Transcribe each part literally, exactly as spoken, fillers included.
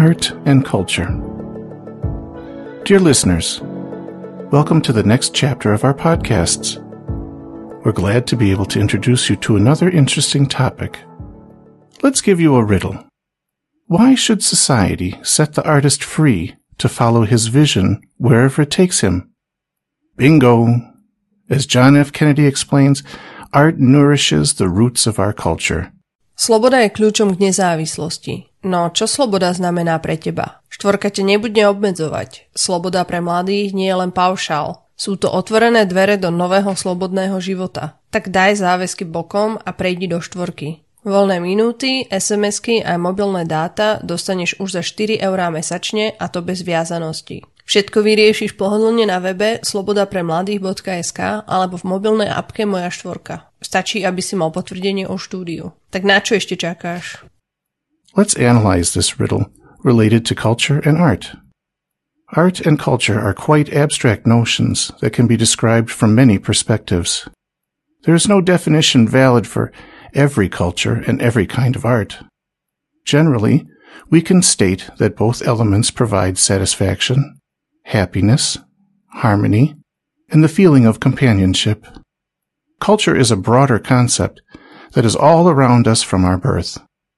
art and culture. Dear listeners, welcome to the next chapter of our podcasts. We're glad to be able to introduce you to another interesting topic. Let's give you a riddle. Why should society set the artist free to follow his vision wherever it takes him? Bingo! As John F. Kennedy explains, art nourishes the roots of our culture. Sloboda je kľúčom k nezávislosti. No, čo sloboda znamená pre teba? Štvorka te nebude obmedzovať. Sloboda pre mladých nie je len paušál. Sú to otvorené dvere do nového slobodného života. Tak daj záväzky bokom a prejdi do štvorky. Voľné minúty, es em esky a mobilné dáta dostaneš už za štyri eurá mesačne a to bez viazanosti. Všetko vyriešiš pohodlne na webe slobodapremladých bodka es ká alebo v mobilnej apke Moja štvorka. Stačí, aby si mal potvrdenie o štúdiu. Tak na čo ešte čakáš? Let's analyze this riddle related to culture and art. Art and culture are quite abstract notions that can be described from many perspectives. There is no definition valid for every culture and every kind of art. Generally, we can state that both elements provide satisfaction, happiness, harmony, and the feeling of companionship. Culture is a broader concept that is all around us from our birth.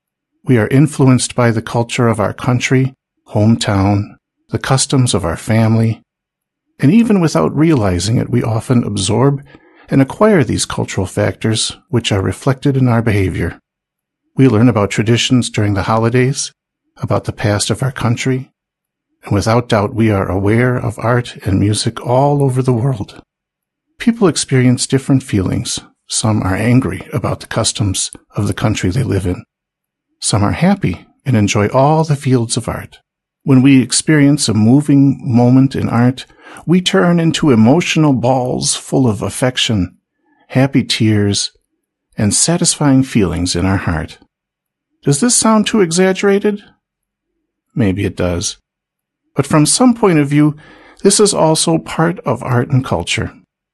We are influenced by the culture of our country, hometown, the customs of our family, and even without realizing it, we often absorb and acquire these cultural factors which are reflected in our behavior. We learn about traditions during the holidays, about the past of our country, and without doubt we are aware of art and music all over the world. People experience different feelings. Some are angry about the customs of the country they live in. Some are happy and enjoy all the fields of art. When we experience a moving moment in art, we turn into emotional balls full of affection, happy tears, and satisfying feelings in our heart. Does this sound too exaggerated? Maybe it does. But from some point of view, this is also part of art and culture.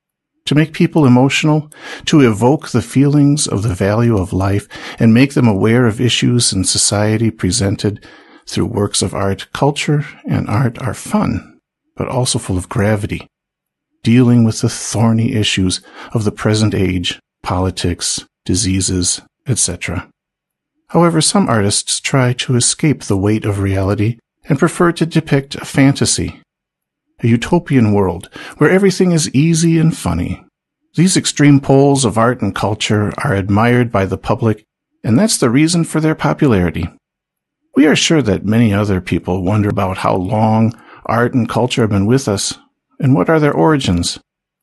To make people emotional, to evoke the feelings of the value of life, and make them aware of issues in society presented through works of art. Culture and art are fun, but also full of gravity, dealing with the thorny issues of the present age, politics, diseases, et cetera. However, some artists try to escape the weight of reality and prefer to depict a fantasy, a utopian world where everything is easy and funny. These extreme poles of art and culture are admired by the public, and that's the reason for their popularity. We are sure that many other people wonder about how long art and culture have been with us, and what are their origins.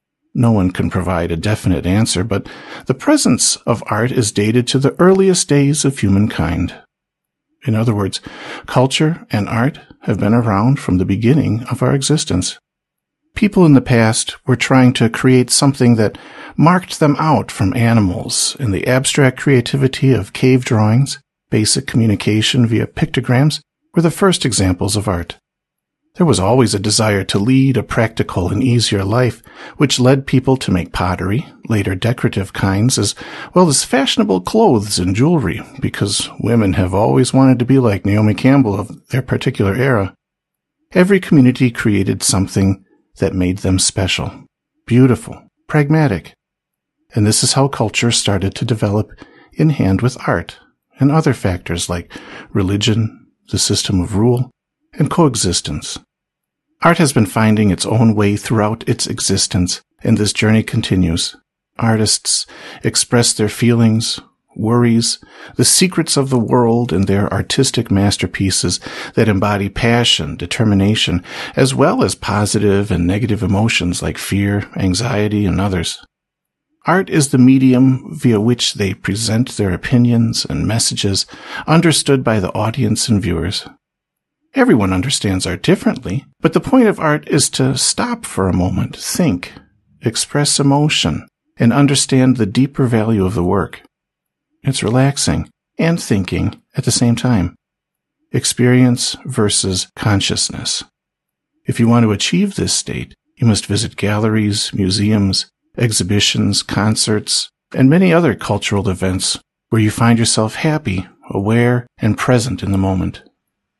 No one can provide a definite answer, but the presence of art is dated to the earliest days of humankind. In other words, culture and art have been around from the beginning of our existence. People in the past were trying to create something that marked them out from animals, and the abstract creativity of cave drawings, basic communication via pictograms, were the first examples of art. There was always a desire to lead a practical and easier life, which led people to make pottery, later decorative kinds, as well as fashionable clothes and jewelry, because women have always wanted to be like Naomi Campbell of their particular era. Every community created something that made them special, beautiful, pragmatic. And this is how culture started to develop in hand with art and other factors like religion, the system of rule, and coexistence. Art has been finding its own way throughout its existence, and this journey continues. Artists express their feelings, worries, the secrets of the world in their artistic masterpieces that embody passion, determination, as well as positive and negative emotions like fear, anxiety, and others. Art is the medium via which they present their opinions and messages, understood by the audience and viewers. Everyone understands art differently, but the point of art is to stop for a moment, think, express emotion, and understand the deeper value of the work. It's relaxing and thinking at the same time. Experience versus consciousness. If you want to achieve this state, you must visit galleries, museums, exhibitions, concerts, and many other cultural events where you find yourself happy, aware, and present in the moment.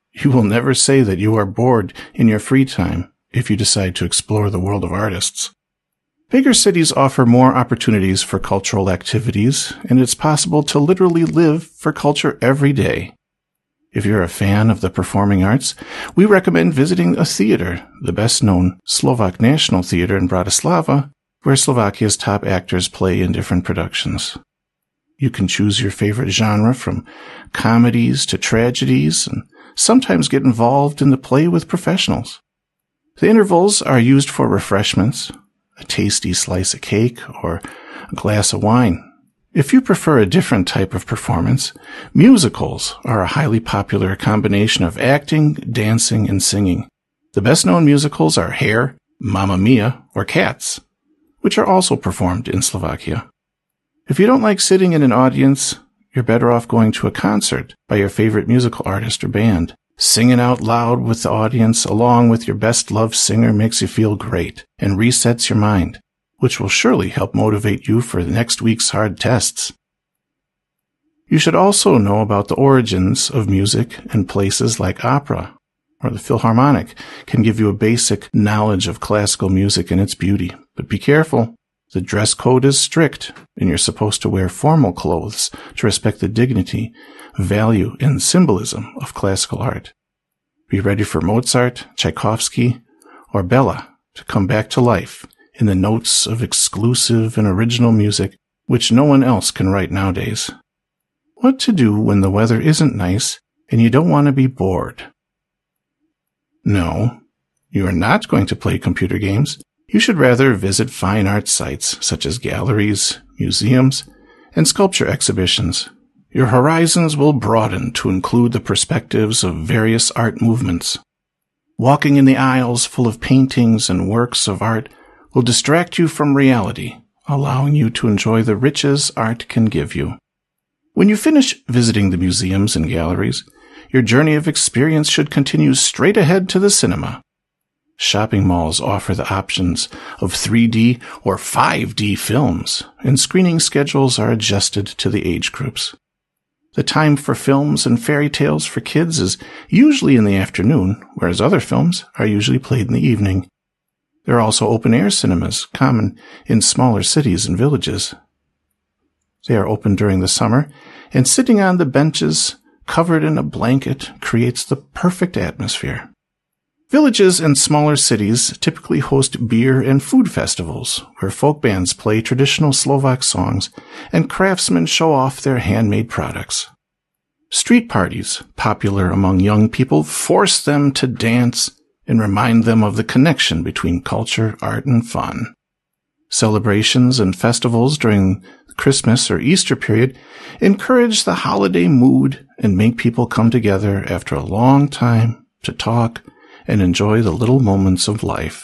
You will never say that you are bored in your free time if you decide to explore the world of artists. Bigger cities offer more opportunities for cultural activities, and it's possible to literally live for culture every day. If you're a fan of the performing arts, we recommend visiting a theater, the best-known Slovak National Theater in Bratislava, where Slovakia's top actors play in different productions. You can choose your favorite genre from comedies to tragedies and sometimes get involved in the play with professionals. The intervals are used for refreshments, a tasty slice of cake, or a glass of wine. If you prefer a different type of performance, musicals are a highly popular combination of acting, dancing, and singing. The best-known musicals are Hair, Mamma Mia, or Cats, which are also performed in Slovakia. If you don't like sitting in an audience, you're better off going to a concert by your favorite musical artist or band. Singing out loud with the audience along with your best-loved singer makes you feel great and resets your mind, which will surely help motivate you for next week's hard tests. You should also know about the origins of music, and places like opera or the Philharmonic can give you a basic knowledge of classical music and its beauty. But be careful. The dress code is strict, and you're supposed to wear formal clothes to respect the dignity, value, and symbolism of classical art. Be ready for Mozart, Tchaikovsky, or Bella to come back to life in the notes of exclusive and original music which no one else can write nowadays. What to do when the weather isn't nice and you don't want to be bored? No, you are not going to play computer games. You should rather visit fine art sites such as galleries, museums, and sculpture exhibitions. Your horizons will broaden to include the perspectives of various art movements. Walking in the aisles full of paintings and works of art will distract you from reality, allowing you to enjoy the riches art can give you. When you finish visiting the museums and galleries, your journey of experience should continue straight ahead to the cinema. Shopping malls offer the options of three D or five D films, and screening schedules are adjusted to the age groups. The time for films and fairy tales for kids is usually in the afternoon, whereas other films are usually played in the evening. There are also open-air cinemas, common in smaller cities and villages. They are open during the summer, and sitting on the benches, covered in a blanket, creates the perfect atmosphere. Villages and smaller cities typically host beer and food festivals, where folk bands play traditional Slovak songs and craftsmen show off their handmade products. Street parties, popular among young people, force them to dance and remind them of the connection between culture, art, and fun. Celebrations and festivals during the Christmas or Easter period encourage the holiday mood and make people come together after a long time to talk and enjoy the little moments of life.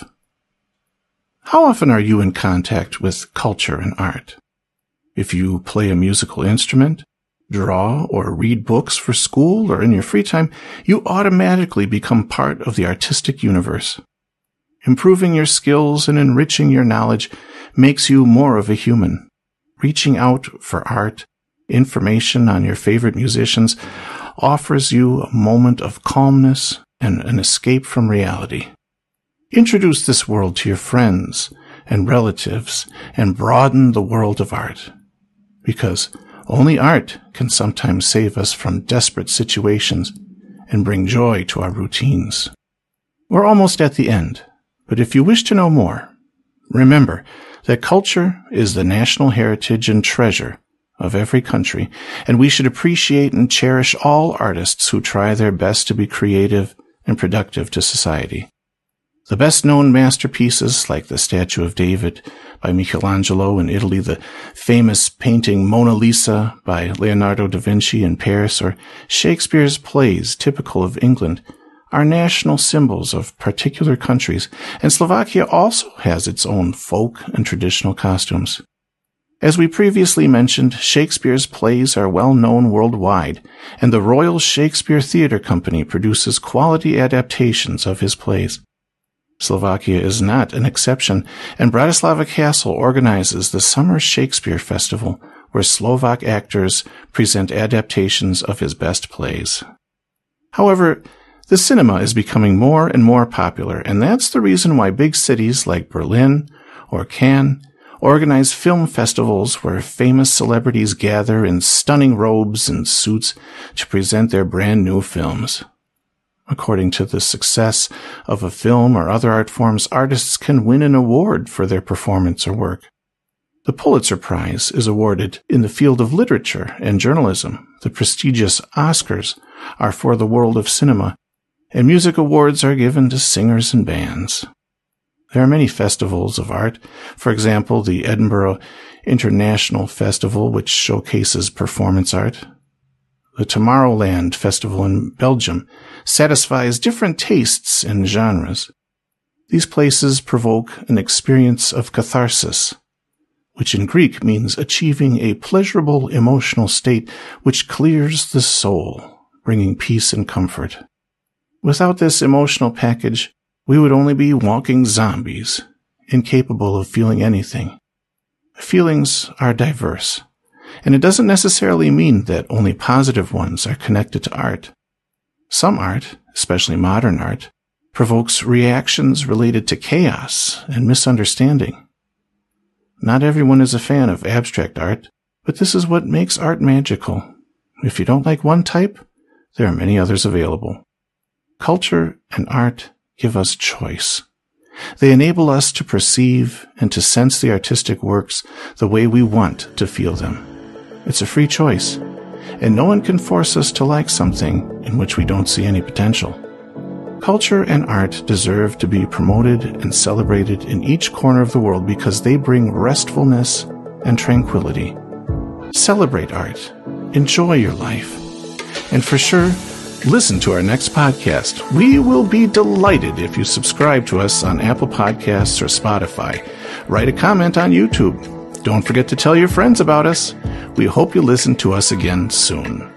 How often are you in contact with culture and art? If you play a musical instrument, draw, or read books for school or in your free time, you automatically become part of the artistic universe. Improving your skills and enriching your knowledge makes you more of a human. Reaching out for art, information on your favorite musicians, offers you a moment of calmness and an escape from reality. Introduce this world to your friends and relatives and broaden the world of art, because only art can sometimes save us from desperate situations and bring joy to our routines. We're almost at the end, but if you wish to know more, remember that culture is the national heritage and treasure of every country, and we should appreciate and cherish all artists who try their best to be creative and productive to society. The best-known masterpieces, like the Statue of David by Michelangelo in Italy, the famous painting Mona Lisa by Leonardo da Vinci in Paris, or Shakespeare's plays typical of England, are national symbols of particular countries, and Slovakia also has its own folk and traditional costumes. As we previously mentioned, Shakespeare's plays are well known worldwide, and the Royal Shakespeare Theatre Company produces quality adaptations of his plays. Slovakia is not an exception, and Bratislava Castle organizes the Summer Shakespeare Festival, where Slovak actors present adaptations of his best plays. However, The cinema is becoming more and more popular, and that's the reason why big cities like Berlin or Cannes organize film festivals where famous celebrities gather in stunning robes and suits to present their brand new films. According to the success of a film or other art forms, artists can win an award for their performance or work. The Pulitzer Prize is awarded in the field of literature and journalism. The prestigious Oscars are for the world of cinema, and music awards are given to singers and bands. There are many festivals of art. For example, the Edinburgh International Festival, which showcases performance art. The Tomorrowland Festival in Belgium satisfies different tastes and genres. These places provoke an experience of catharsis, which in Greek means achieving a pleasurable emotional state which clears the soul, bringing peace and comfort. Without this emotional package, we would only be walking zombies, incapable of feeling anything. Feelings are diverse, and it doesn't necessarily mean that only positive ones are connected to art. Some art, especially modern art, provokes reactions related to chaos and misunderstanding. Not everyone is a fan of abstract art, but this is what makes art magical. If you don't like one type, there are many others available. Culture and art give us choice. They enable us to perceive and to sense the artistic works the way we want to feel them. It's a free choice, and no one can force us to like something in which we don't see any potential. Culture and art deserve to be promoted and celebrated in each corner of the world because they bring restfulness and tranquility. Celebrate art. Enjoy your life. And for sure, listen to our next podcast. We will be delighted if you subscribe to us on Apple Podcasts or Spotify. Write a comment on YouTube. Don't forget to tell your friends about us. We hope you listen to us again soon.